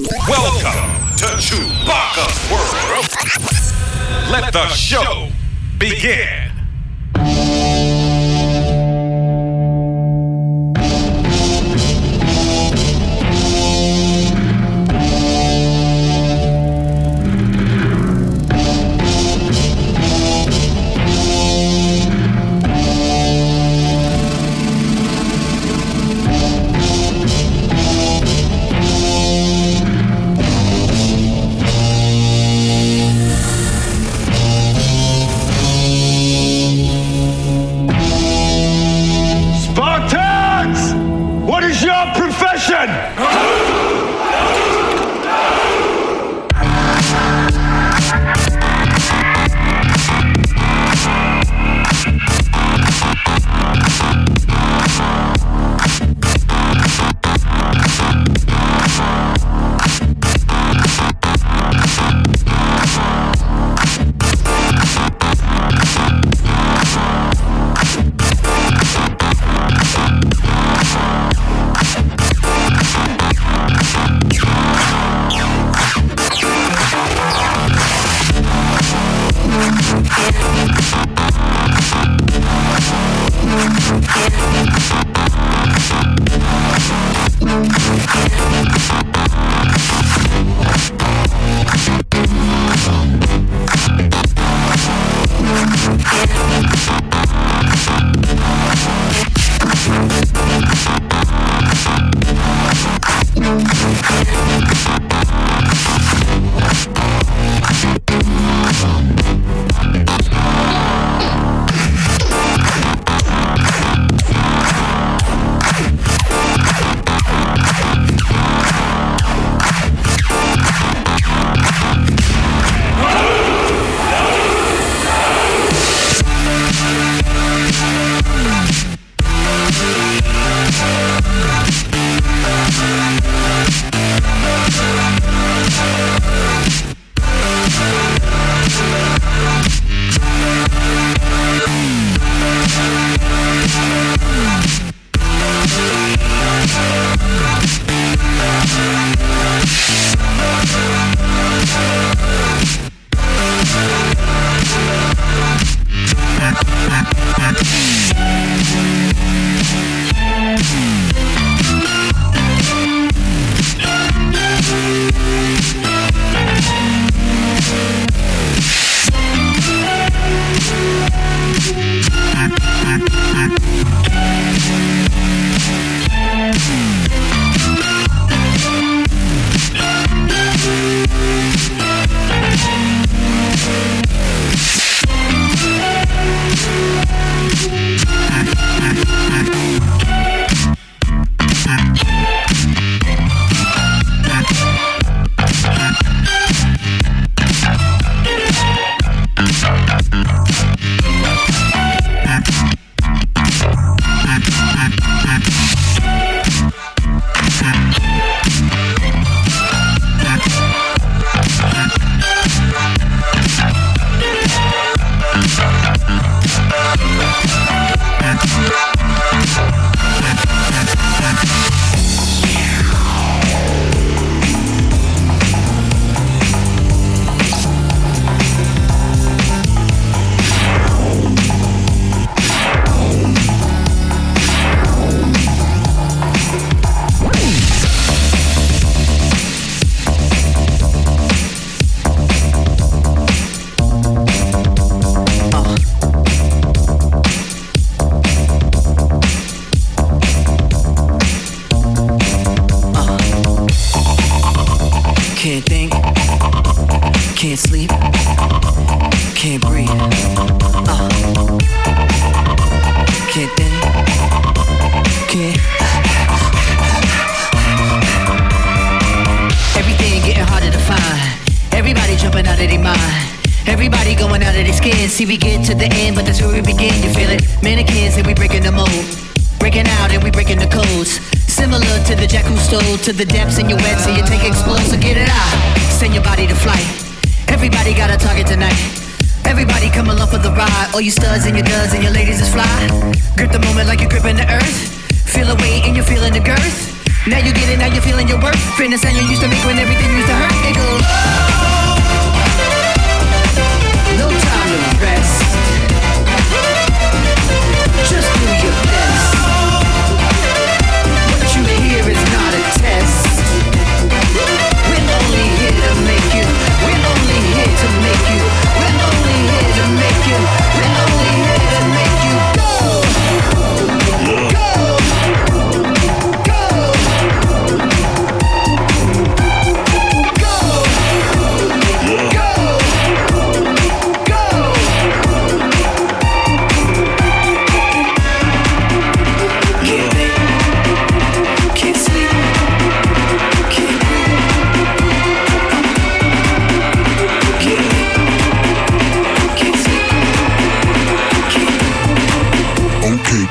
Welcome to Chewbacca's World. Let the show begin. See, we get to the end, but that's where we begin. You feel it? Mannequins and we breaking the mold, breaking out and we breaking the codes. Similar to the jack who stole to the depths in your wet, so you take explode, so get it out. Send your body to flight. Everybody got a target tonight. Everybody come along for the ride. All you studs and your duds and your ladies is fly. Grip the moment like you're gripping the earth. Feel the weight and you're feeling the girth. Now you get it, now you're feeling your worth. Friend the sound you used to make when everything used to hurt. It goes. No time to rest. Just do your best. What you hear is not a test. We're only here to make you. We're only here to make you. We're only here to make you. We're only here to make you go. Go. Go. Go. Go. Go. Can't think, can't sleep, can't breathe. Can't think, can't sleep, can't. Okay.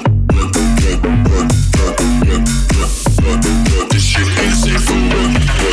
This shit ain't safe for work.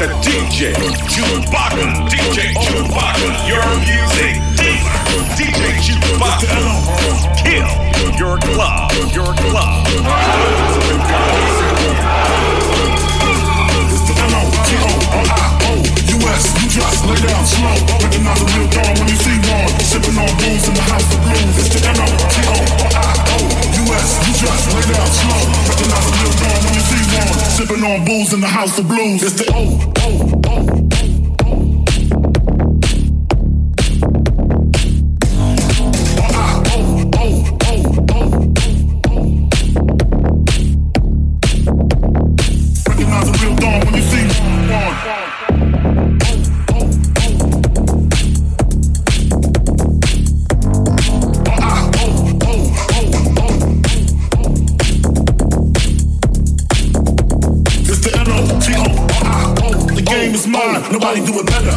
to DJ Chewbacca. DJ Chewbacca, your music dealer. DJ Chewbacca, kill your club. Your club. It's the N-O-T-O-R-I-O-U-S. You just lay down slow. Recognize a real dawn when you see one. Sipping on booze in the house of blues. It's the N-O-T-O-R-I-O-U-S. You just lay down slow. Recognize a real dawn when you see one. Sipping on booze in the house of blues. It's the O-O-O. Nobody do it better.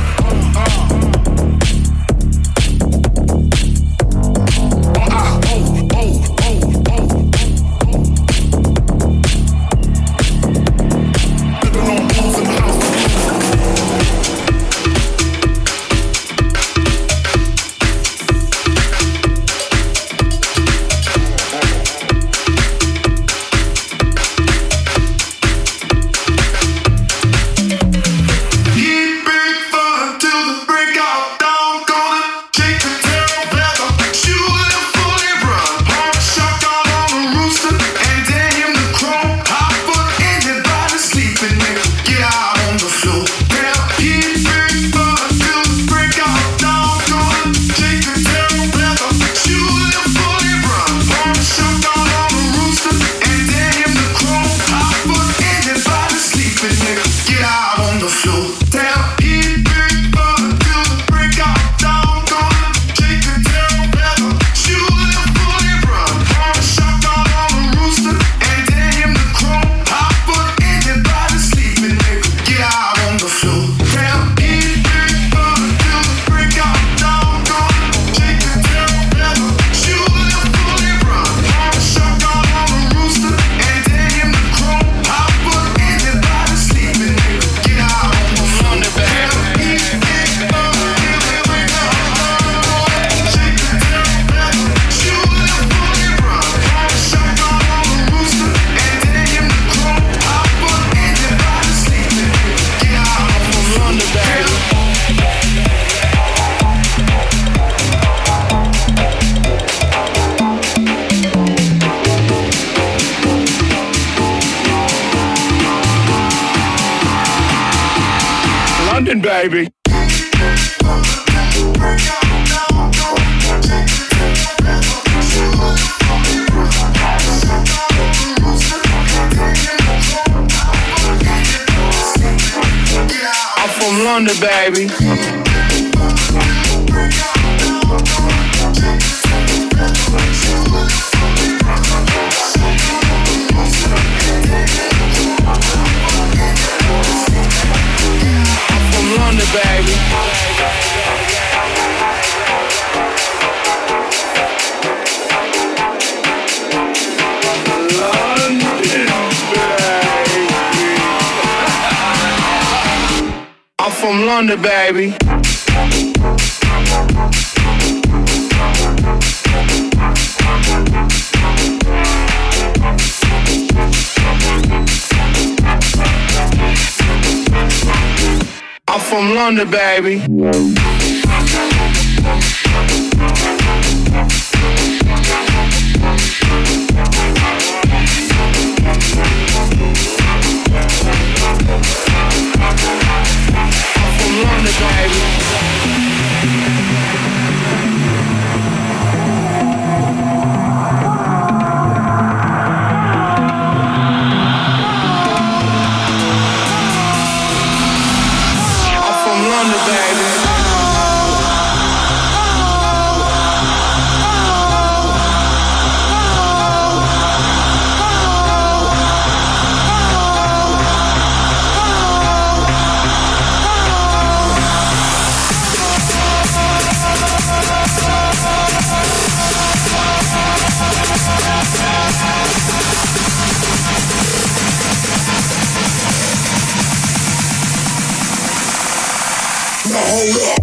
Baby. I'm from London, baby. London, baby. London, baby. I'm from London, baby. I'm from London, baby. London, baby. now hold up.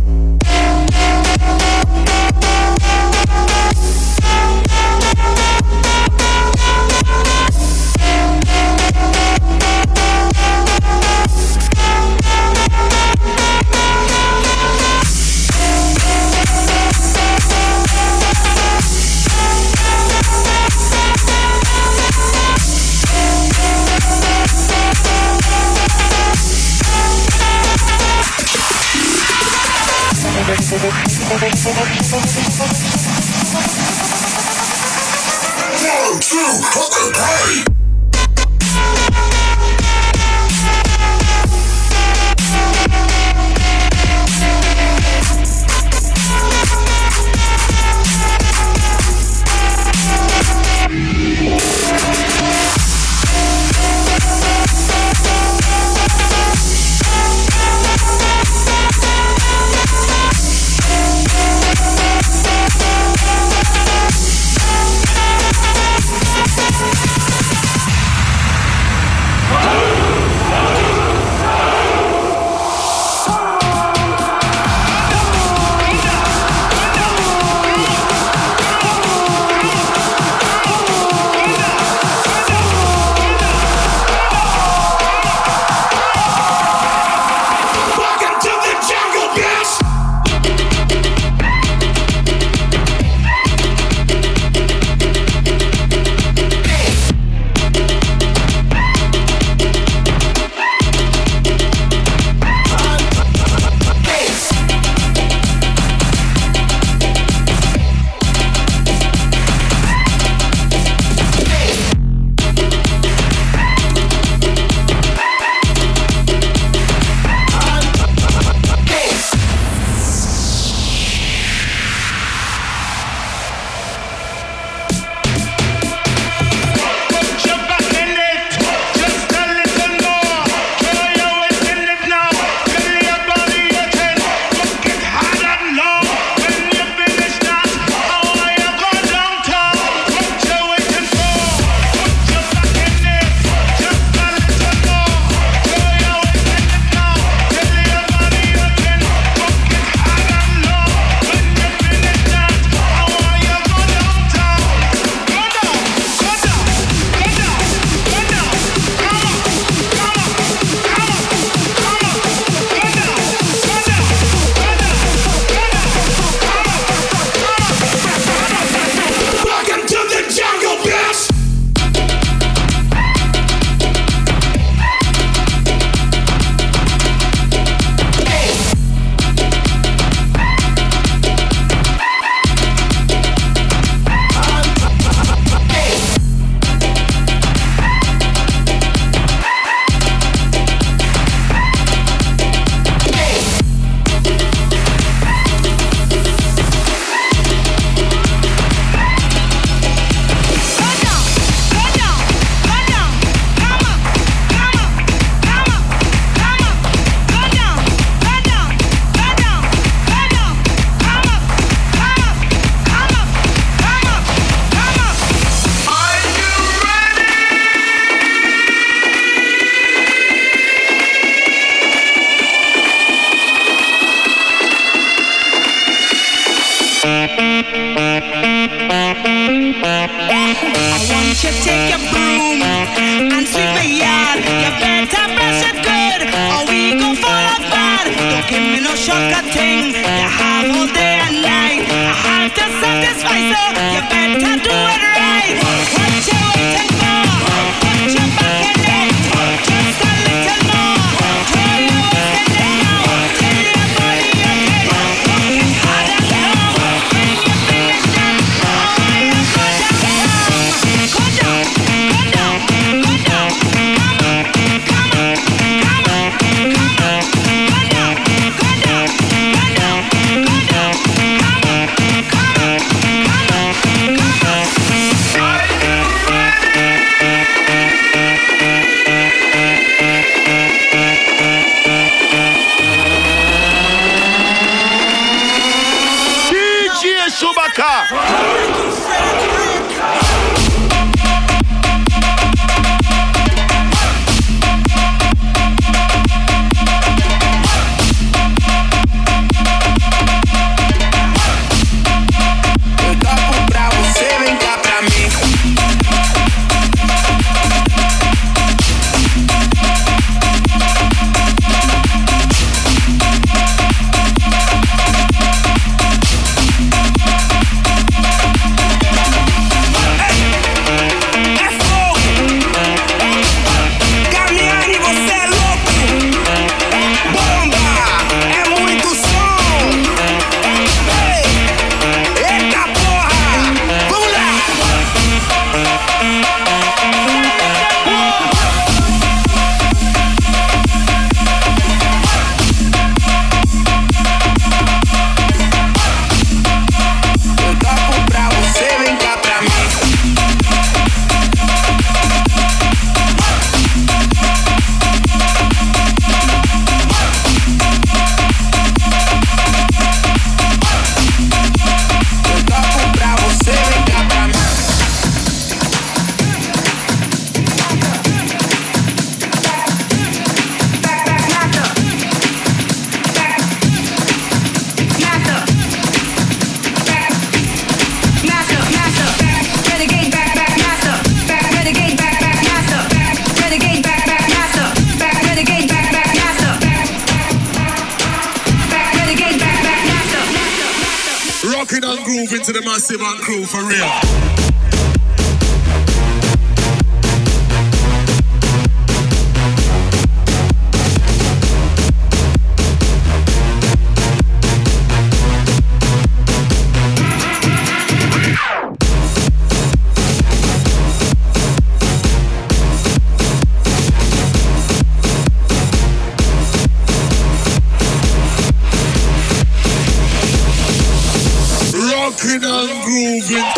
One, two, fucking party! Rocking and grooving to the Massive and crew for real. Rocking and grooving.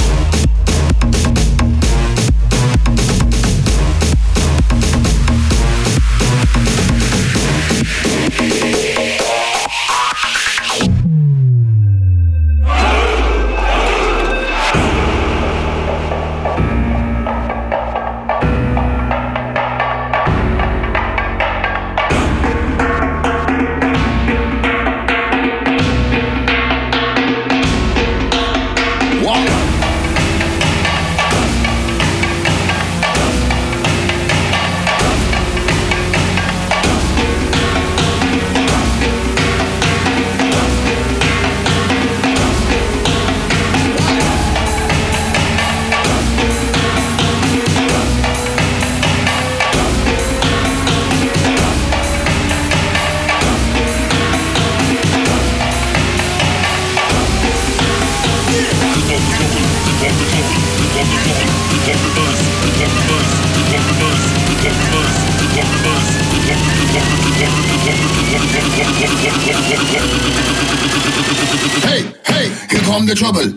Hey, hey, here come the trouble.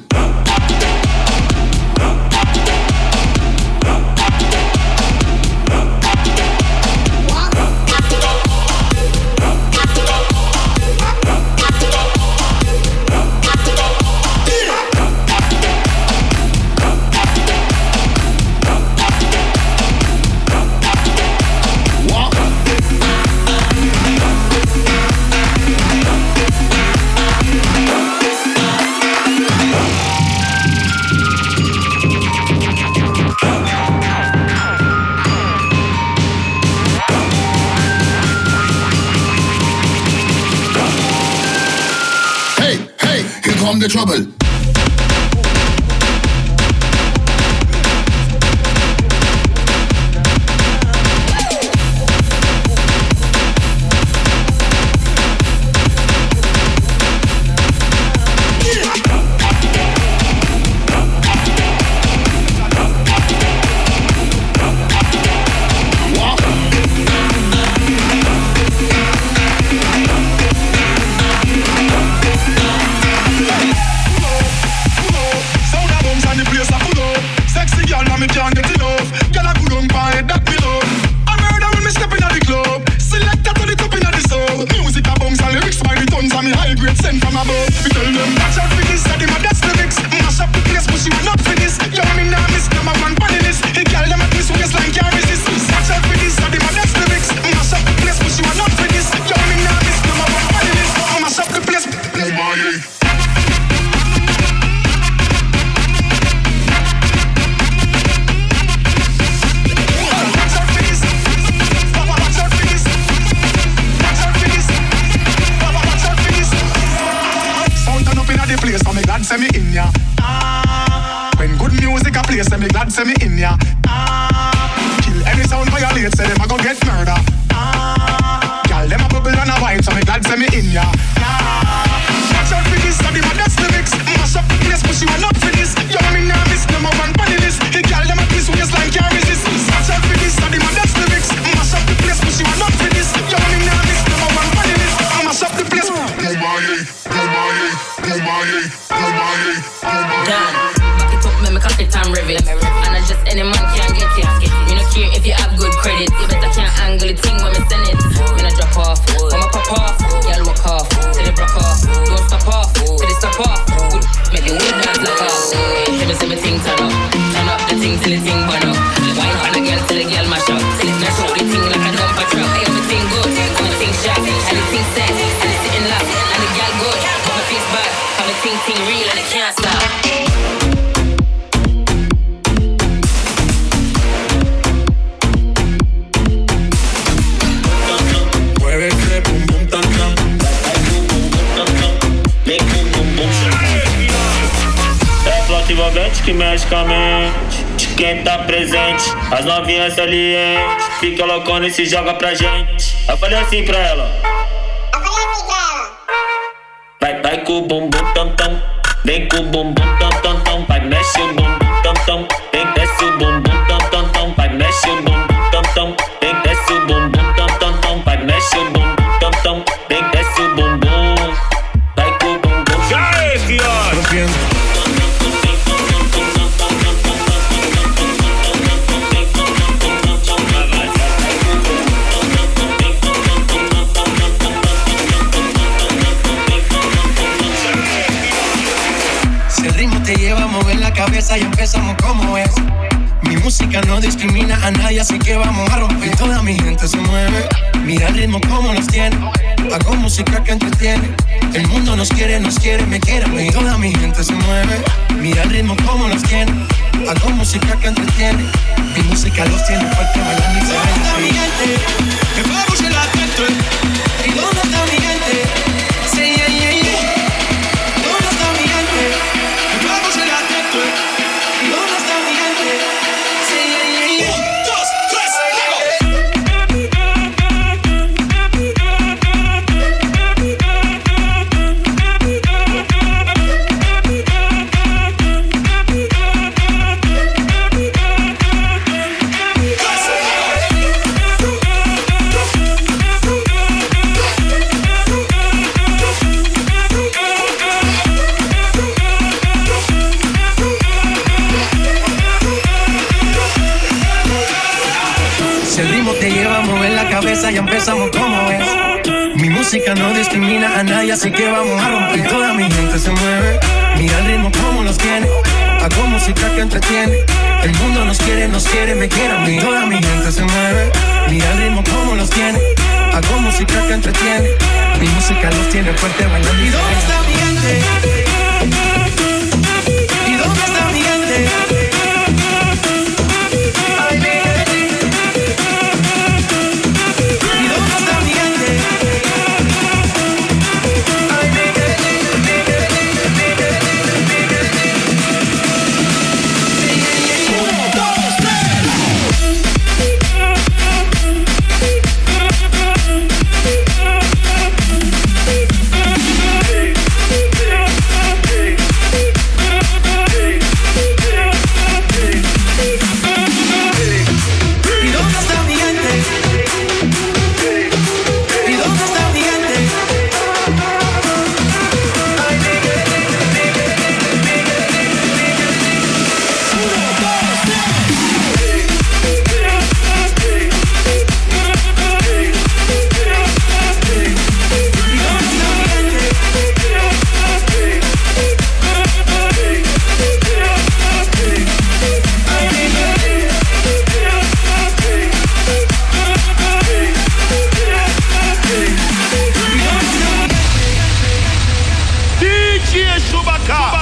Come the trouble. Say me in ya. When good music a play, say me glad say me in ya. Kill any sound violate, say them a go get murder. Girl them a bubble and a wine, so me glad say me in ya. Watch out for this, so the modest lyrics. Mash up the place, push you all up for this. Yo me nah miss number one funny list. The girl them a twist waistline can't resist. Watch out for this, so the modest lyrics. Mash up the place, push you all up for this. Yo me nah miss number one funny list. Mash up the place. Back it up, me cock it and rev it. And I just any man can get it. Me no care if you have good credit. You better can't angle the thing when me send it. Me no drop off, I'ma pop off. Y'all walk off, till they broke off. Don't stop off, till they stop off. Good, make the wood dance lock off. Tell me thing turn up the thing till the thing burn up. Wine on the girl till the girl mash up. Mash up the thing like a dumper truck. I am the thing good, I'm the thing sharp, and the thing set, and the sitting locked, and the girl good. Put my face back, I'm the thing real and it can't stop. ambiente que mexe com a mente de quem tá presente. As novinhas salientes fica loucona e se joga pra gente. Eu falei assim pra ela. Vai com o bumbum tam tam, vem com o bumbum tam tam tam, vai mexe o bumbum tam tam, vem desce o bumbum tam tam tam, vai mexe o bumbum tam tam, vem desce o bumbum tam tam tam, vai mexe o bumbum tam tam, vem desce o bumbum, vai com o bumbum. Já é, fiote. Te lleva a mover la cabeza y empezamos como es. Mi música no discrimina a nadie, así que vamos a romper. Toda mi gente se mueve, mira el ritmo como nos tiene. Hago música que entretiene. El mundo nos quiere, me quiere. Y toda mi gente se mueve, mira el ritmo como nos tiene. Hago música que entretiene. Mi música los tiene fuerte bailando y se ¿Dónde está mi gente? Que vamos en la gente. ¿Y dónde está mi gente? Sí, yeah, yeah, yeah. ¿Dónde está mi gente? Vamos en la gente. ¿Y dónde está mi gente? Sí, yeah, yeah, yeah. 1, 2, Ya empezamos como es. Mi música no discrimina a nadie, así que vamos a romper. Toda mi gente se mueve, mira el ritmo como los tiene. Hago música que entretiene. El mundo nos quiere, me quiere a mí. Toda mi gente se mueve, mira el ritmo como los tiene. Hago música que entretiene. Mi música los tiene fuerte bailando. ¿Y dónde está mi gente? ¿Y dónde está mi gente? DJ Chewbacca.